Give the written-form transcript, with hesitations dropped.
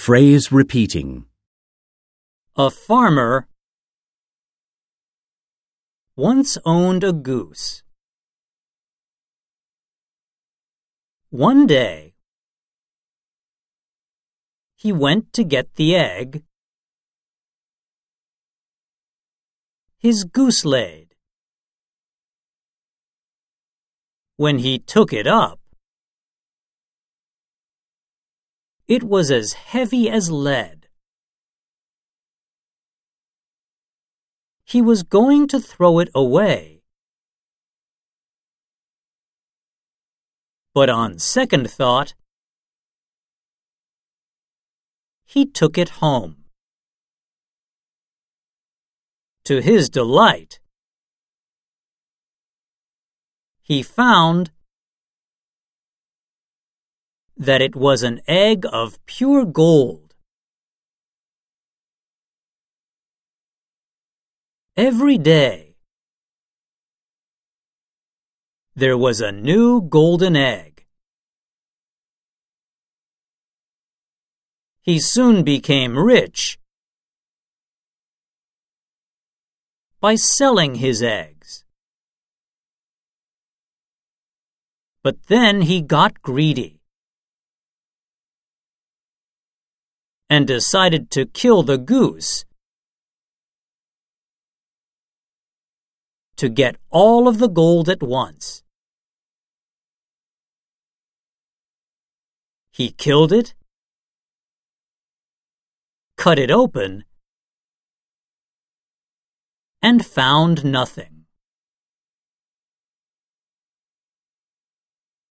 Phrase repeating. A farmer once owned a goose. One day, he went to get the egg his goose laid. When he took it up, it was as heavy as lead. He was going to throw it away, but on second thought, he took it home. To his delight, he found that it was an egg of pure gold. Every day, there was a new golden egg. He soon became rich by selling his eggs. But then he got greedy and decided to kill the goose to get all of the gold at once. He killed it, cut it open, and found nothing.